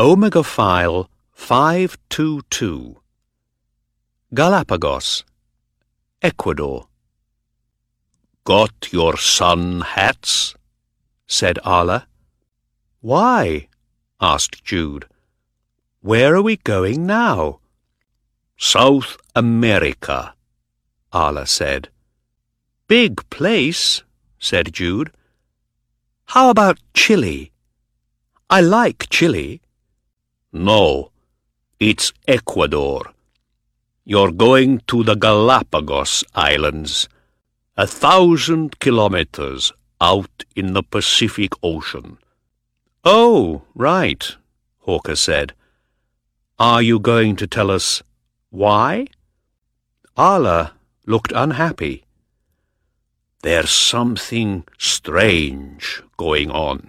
Omega File 522. Galapagos, Ecuador. "Got your sun hats?" said Arla. "Why?" asked Jude. "Where are we going now?" "South America," Arla said. "Big place," said Jude. "How about Chile? I like Chile." "No, it's Ecuador. You're going to the Galapagos Islands, 1,000 kilometers out in the Pacific Ocean." "Oh, right," Hawker said. "Are you going to tell us why?" Arla looked unhappy. "There's something strange going on.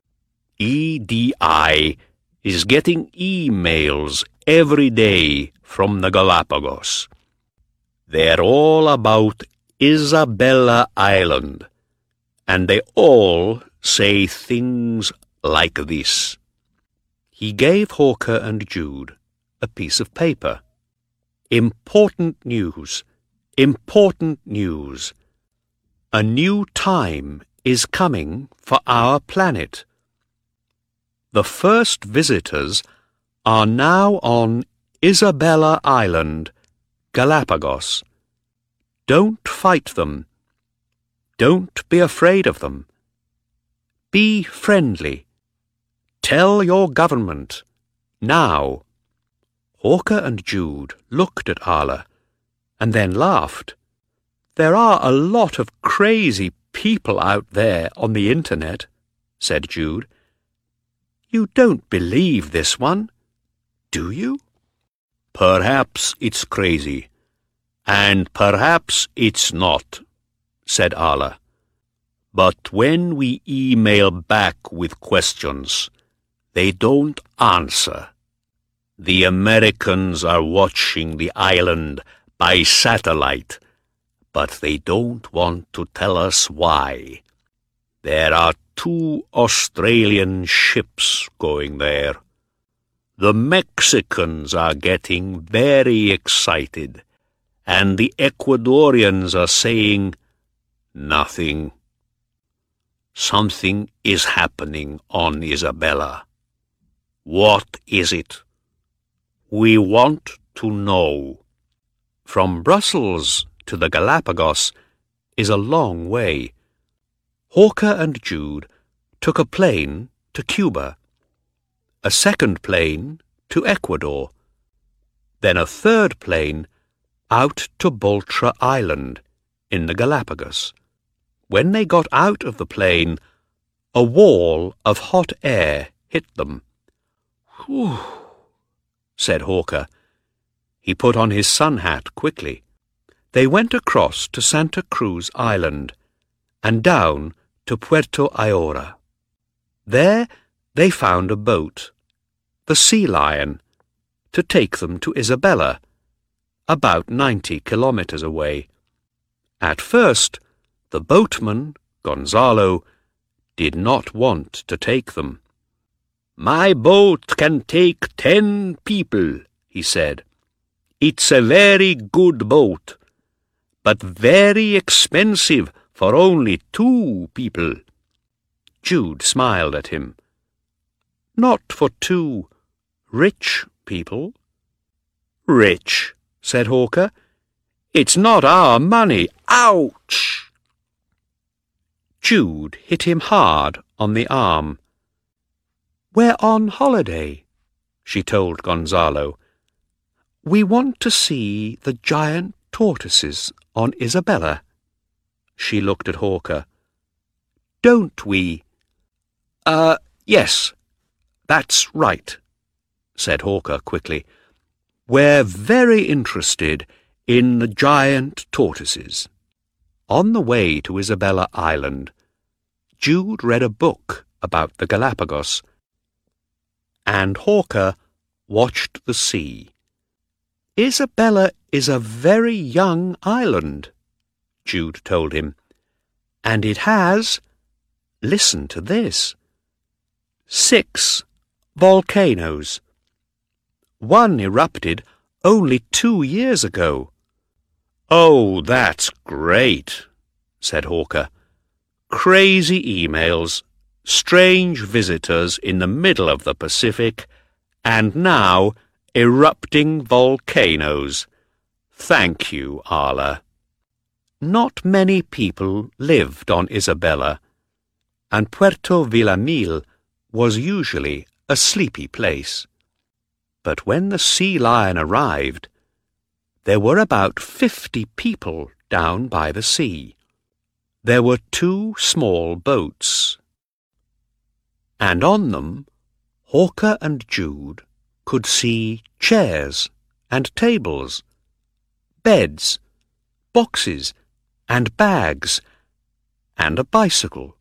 EDI is getting emails every day from the Galapagos. They're all about Isabella Island, and they all say things like this." He gave Hawker and Jude a piece of paper. "Important news, important news. A new time is coming for our planet. The first visitors are now on Isabella Island, Galapagos. Don't fight them. Don't be afraid of them. Be friendly. Tell your government, now." Hawker and Jude looked at Arla, and then laughed. "There are a lot of crazy people out there on the internet," said Jude. "You don't believe this one, do you?" "Perhaps it's crazy, and perhaps it's not," said Arla. "But when we email back with questions, they don't answer. The Americans are watching the island by satellite, but they don't want to tell us why. There are 2 Australian ships going there. The Mexicans are getting very excited, and the Ecuadorians are saying nothing. Something is happening on Isabella. What is it? We want to know." From Brussels to the Galapagos is a long way. Hawker and Jude took a plane to Cuba, a second plane to Ecuador, then a third plane out to Baltra Island in the Galapagos. When they got out of the plane, a wall of hot air hit them. "Whew," said Hawker. He put on his sun hat quickly. They went across to Santa Cruz Island and down to Puerto Ayora. There they found a boat, the Sea Lion, to take them to Isabella, about 90 kilometers away. At first, the boatman, Gonzalo, did not want to take them. "My boat can take 10 people," he said. "It's a very good boat, but very expensive for only 2 people." Jude smiled at him. "Not for 2 rich people." "Rich," said Hawker. "It's not our money. Ouch!" Jude hit him hard on the arm. "We're on holiday," she told Gonzalo. "We want to see the giant tortoises on Isabella." She looked at Hawker. "Don't we?" Yes, that's right," said Hawker quickly. "We're very interested in the giant tortoises." On the way to Isabella Island, Jude read a book about the Galapagos, and Hawker watched the sea. "Isabella is a very young island," Jude told him, "and it has, listen to this, 6 Volcanoes. One erupted only 2 years ago. Oh, that's great, said Hawker. Crazy emails, strange visitors in the middle of the Pacific, and now erupting volcanoes. Thank you, Arla. Not many people lived on Isabella, and Puerto Villamil was usually a sleepy place. But when the sea lion arrived, there were about 50 people down by the sea. There were 2 small boats, and on them Hawker and Jude could see chairs and tables, beds, boxes and bags, and a bicycle.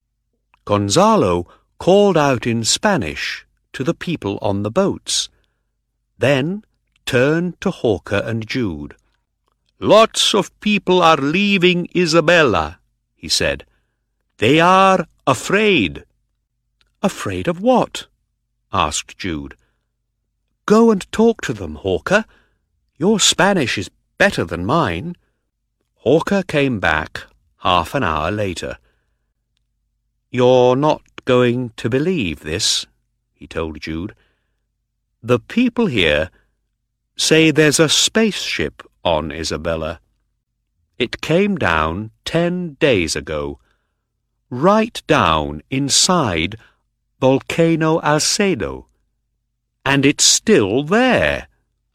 Gonzalo called out in Spanish to the people on the boats, then turned to Hawker and Jude. "Lots of people are leaving Isabella," he said. "They are afraid." "Afraid of what?" asked Jude. "Go and talk to them, Hawker. Your Spanish is better than mine." Hawker came back half an hour later. "You're not going to believe this," he told Jude. "The people here say there's a spaceship on Isabella. It came down 10 days ago, right down inside Volcano Alcedo, and it's still there."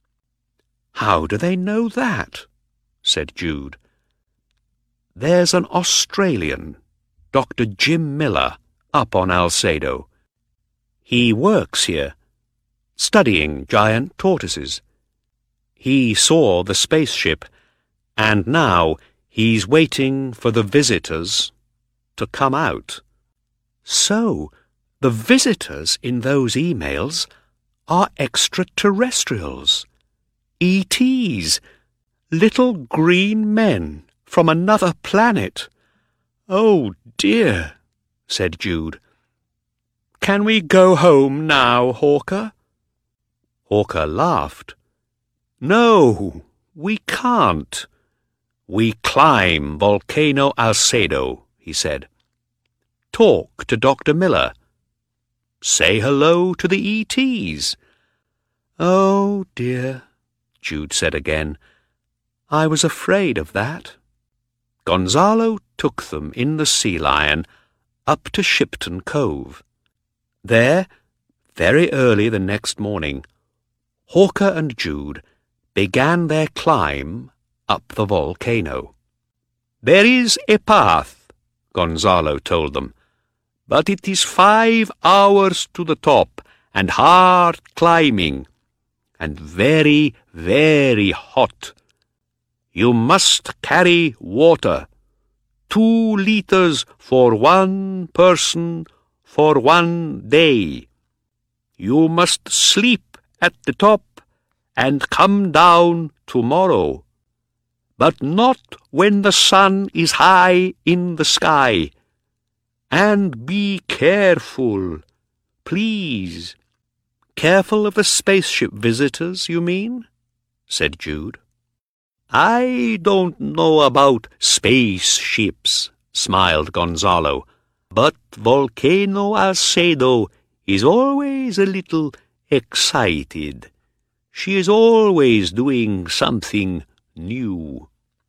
"How do they know that?" said Jude. "There's an Australian, Dr. Jim Miller, up on Alcedo. He works here, studying giant tortoises. He saw the spaceship, and now he's waiting for the visitors to come out." "So, the visitors in those emails are extraterrestrials, ETs, little green men from another planet." "Oh dear," said Jude. "Can we go home now, Hawker?" Hawker laughed. "No, we can't. We climb Volcano Alcedo," he said. "Talk to Dr. Miller. Say hello to the ETs." "Oh dear," Jude said again. "I was afraid of that." Gonzalo took them in the Sea Lion up to Shipton Cove. There, very early the next morning, Hawker and Jude began their climb up the volcano. "There is a path," Gonzalo told them, "but it is 5 hours to the top and hard climbing, and very, very hot. You must carry water, 2 liters for 1 person for 1 day. You must sleep at the top and come down tomorrow, but not when the sun is high in the sky. And be careful, please." "Careful of the spaceship visitors, you mean?" said Jude. "I don't know about spaceships," smiled Gonzalo, "but Volcano Alcedo is always a little excited. She is always doing something new."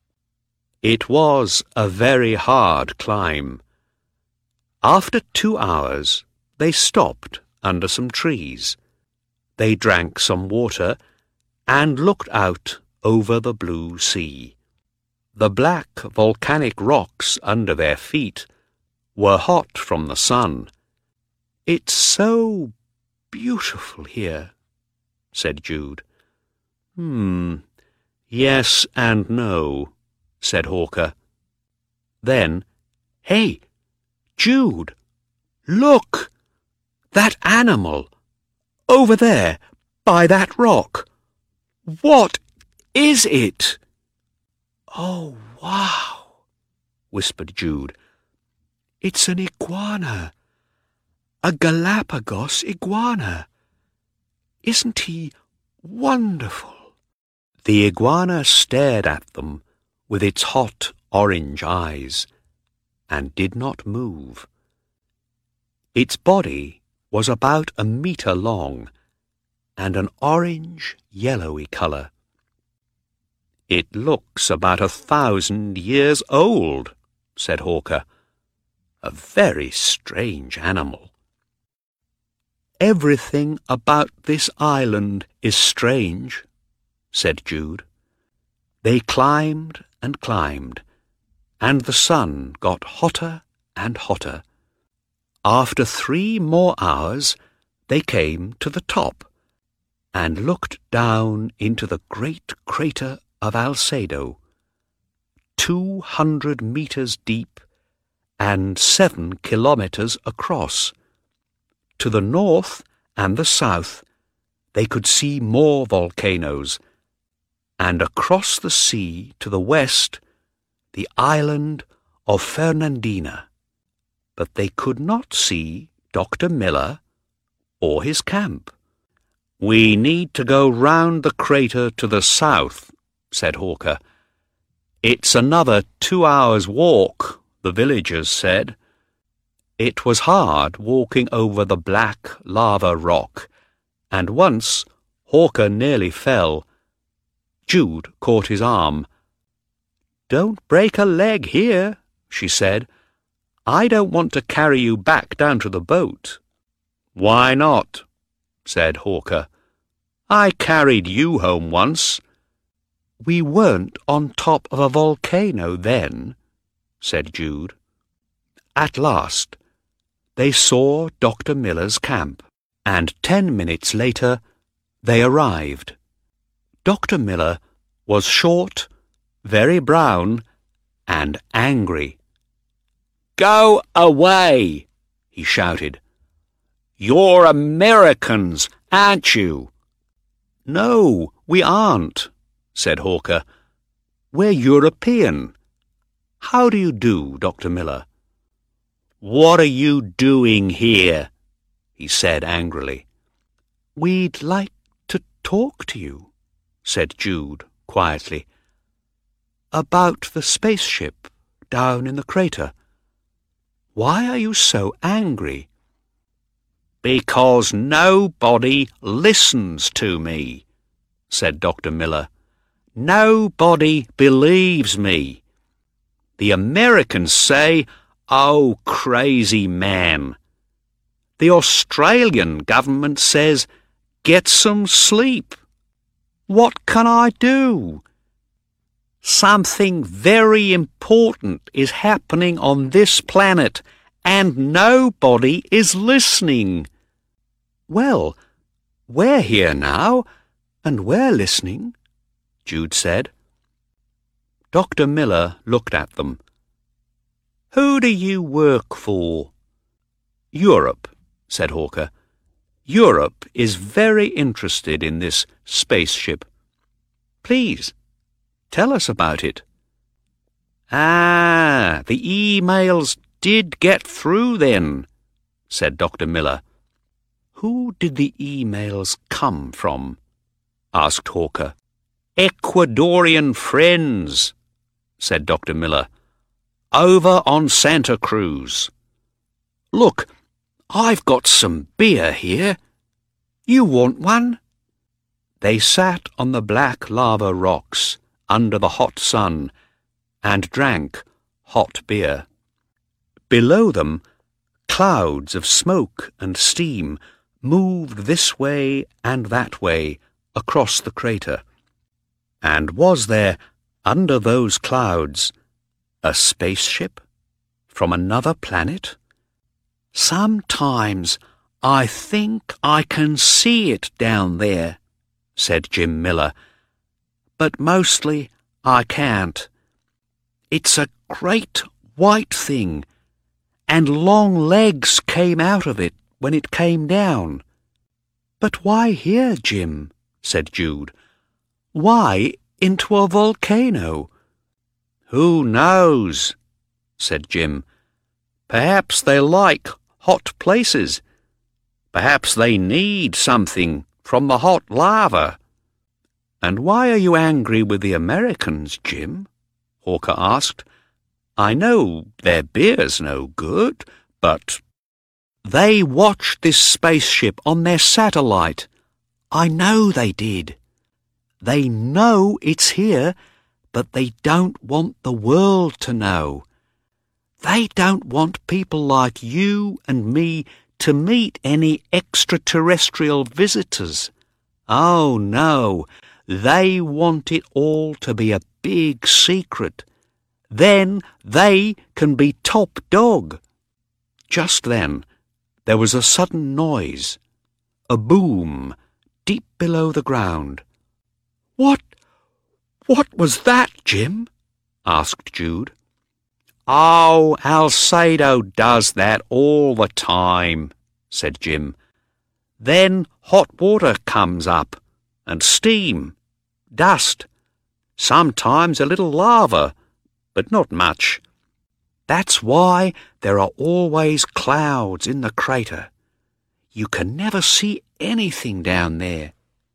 It was a very hard climb. After 2 hours, they stopped under some trees. They drank some water and looked out over the blue sea. The black volcanic rocks under their feet were hot from the sun. "It's so beautiful here," said Jude. Yes and no," said Hawker. Then, "Hey, Jude, look! That animal! Over there, by that rock! What is it?" "Oh, wow!" whispered Jude. "It's an iguana. A Galapagos iguana! Isn't he wonderful?" The iguana stared at them with its hot orange eyes and did not move. Its body was about 1 meter long and an orange-yellowy colour. "It looks about 1,000 years old," said Hawker. "A very strange animal." "Everything about this island is strange," said Jude. They climbed and climbed, and the sun got hotter and hotter. After 3 more hours they came to the top and looked down into the great crater of Alcedo, 200 meters deep and 7 kilometers across. To the north and the south they could see more volcanoes, and across the sea to the west the island of Fernandina. But they could not see Dr. Miller or his camp. "We need to go round the crater to the south," said Hawker. "It's another 2 hours' walk," the villagers said. It was hard walking over the black lava rock, and once Hawker nearly fell. Jude caught his arm. "Don't break a leg here," she said. "I don't want to carry you back down to the boat." "Why not?" said Hawker. "I carried you home once." "We weren't on top of a volcano then," said Jude. At last they saw Dr. Miller's camp, and 10 minutes later they arrived. Dr. Miller was short, very brown, and angry. "Go away!" he shouted. "You're Americans, aren't you?" "No, we aren't," said Hawker. "We're European. How do you do, Dr. Miller?" "What are you doing here?" he said angrily. "We'd like to talk to you," said Jude quietly. "About the spaceship down in the crater. Why are you so angry?" "Because nobody listens to me," said Dr. Miller. "Nobody believes me. The Americans say, 'Oh, crazy man.' The Australian government says, 'Get some sleep.' What can I do? Something very important is happening on this planet, and nobody is listening." "Well, we're here now, and we're listening," Jude said. Dr. Miller looked at them. "Who do you work for?" "Europe," said Hawker. "Europe is very interested in this spaceship. Please, tell us about it." "Ah, the emails did get through then," said Dr. Miller. "Who did the emails come from?" asked Hawker. "Ecuadorian friends," said Dr. Miller. "Over on Santa Cruz. Look, I've got some beer here. You want one?" They sat on the black lava rocks under the hot sun and drank hot beer. Below them, clouds of smoke and steam moved this way and that way across the crater. And was there, under those clouds, a spaceship from another planet? "Sometimes I think I can see it down there," said Jim Miller, "but mostly I can't. It's a great white thing, and long legs came out of it when it came down." "But why here, Jim?" said Jude. "Why into a volcano?" "Who knows?" said Jim. "Perhaps they like hot places. Perhaps they need something from the hot lava." "And why are you angry with the Americans, Jim?" Hawker asked. "I know their beer's no good, but—" "They watched this spaceship on their satellite. I know they did. They know it's here, but they don't want the world to know. They don't want people like you and me to meet any extraterrestrial visitors. Oh, no, they want it all to be a big secret. Then they can be top dog." Just then, there was a sudden noise, a boom, deep below the ground. What was that, Jim?" asked Jude. "Oh, Alcedo does that all the time," said Jim. "Then hot water comes up, and steam, dust, sometimes a little lava, but not much. That's why there are always clouds in the crater. You can never see anything down there."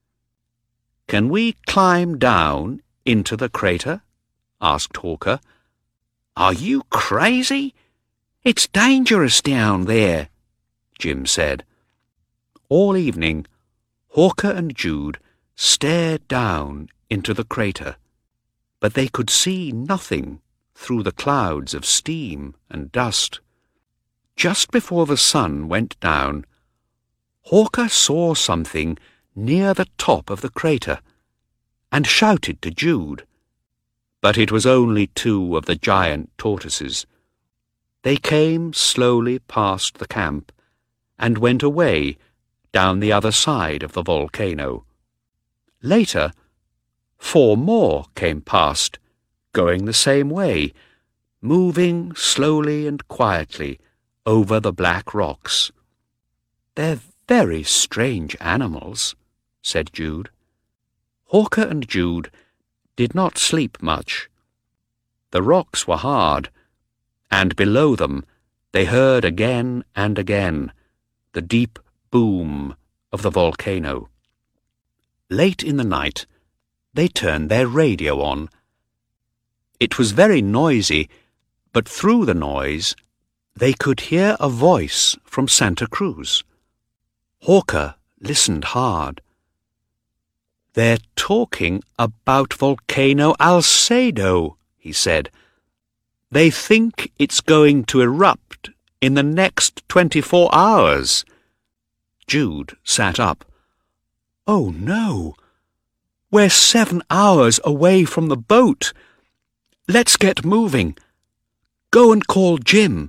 "Can we climb down into the crater?" asked Hawker. "Are you crazy? It's dangerous down there," Jim said. All evening, Hawker and Jude stared down into the crater, but they could see nothing through the clouds of steam and dust. Just before the sun went down, Hawker saw something near the top of the crater and shouted to Jude. But it was only 2 of the giant tortoises. They came slowly past the camp and went away down the other side of the volcano. Later, 4 more came past, going the same way, moving slowly and quietly over the black rocks. "They're very strange animals," said Jude. Hawker and Jude did not sleep much. The rocks were hard, and below them they heard again and again the deep boom of the volcano. Late in the night, they turned their radio on. It was very noisy, but through the noise they could hear a voice from Santa Cruz. Hawker listened hard. "They're talking about Volcano Alcedo," he said. "They think it's going to erupt in the next 24 hours. Jude sat up. "Oh, no! We're 7 hours away from the boat. Let's get moving. Go and call Jim."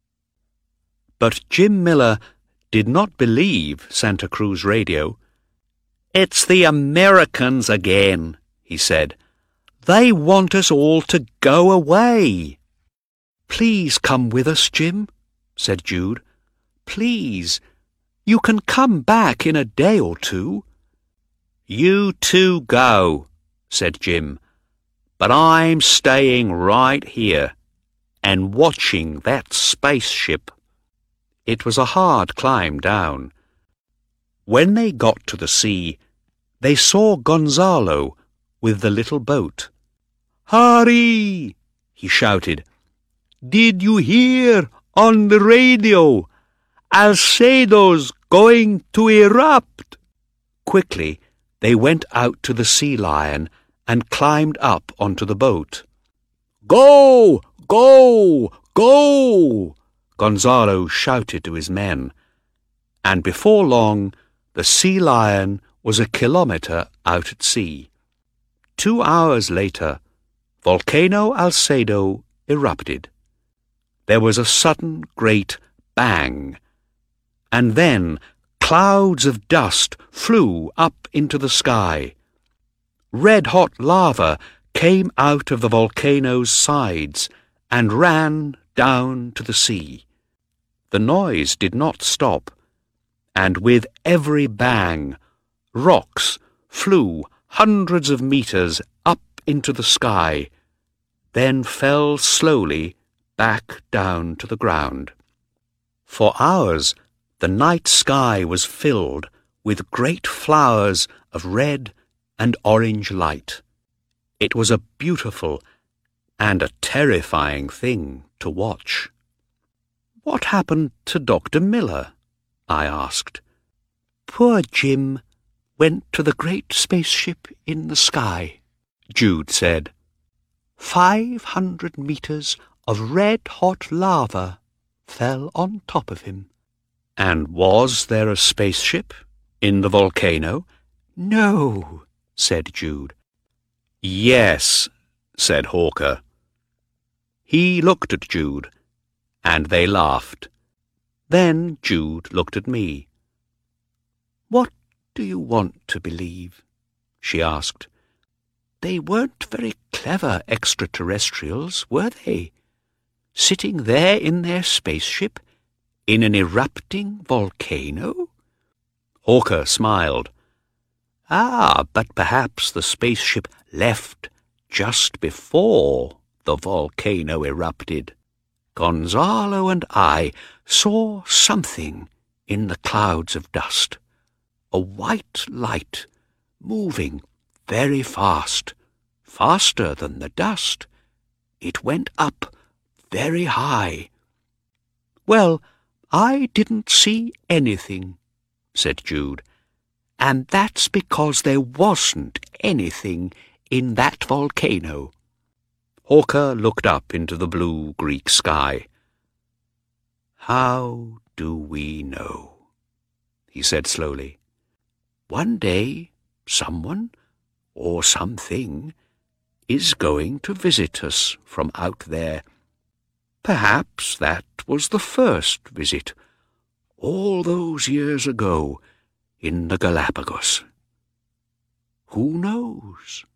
But Jim Miller did not believe Santa Cruz radio. "It's the Americans again," he said. "They want us all to go away." "Please come with us, Jim," said Jude. "Please. You can come back in a day or 2. "You 2 go," said Jim. "But I'm staying right here and watching that spaceship." It was a hard climb down. When they got to the sea, they saw Gonzalo with the little boat. "Hurry!" he shouted. "Did you hear on the radio? Alcedo's going to erupt!" Quickly, they went out to the sea lion and climbed up onto the boat. "Go! Go! Go!" Gonzalo shouted to his men, and before long the sea lion was a kilometre out at sea. 2 hours later, Volcano Alcedo erupted. There was a sudden great bang, and then clouds of dust flew up into the sky. Red-hot lava came out of the volcano's sides and ran down to the sea. The noise did not stop, and with every bang, rocks flew hundreds of meters up into the sky, then fell slowly back down to the ground. For hours The night sky was filled with great flowers of red and orange light. It was a beautiful and a terrifying thing to watch. "What happened to Dr. Miller?" I asked. "Poor Jim went to the great spaceship in the sky," Jude said. 500 meters of red-hot lava fell on top of him. "And was there a spaceship in the volcano?" "No," said Jude. "Yes," said Hawker. He looked at Jude, and they laughed. Then Jude looked at me. "What do you want to believe?" she asked. "They weren't very clever extraterrestrials, were they? Sitting there in their spaceship, in an erupting volcano?" Hawker smiled. "Ah, but perhaps the spaceship left just before the volcano erupted. Gonzalo and I saw something in the clouds of dust. A white light, moving very fast, faster than the dust. It went up very high." "Well, I didn't see anything," said Jude, "and that's because there wasn't anything in that volcano." Hawker looked up into the blue Greek sky. "How do we know?" he said slowly. "One day, someone or something is going to visit us from out there. Perhaps that was the first visit, all those years ago in the Galapagos. Who knows?"